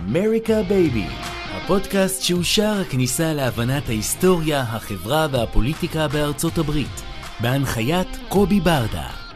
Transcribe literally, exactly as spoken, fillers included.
אמריקה בייבי, הפודקאסט שהוא שער הכניסה להבנת ההיסטוריה, החברה והפוליטיקה בארצות הברית, בהנחיית קובי ברדה.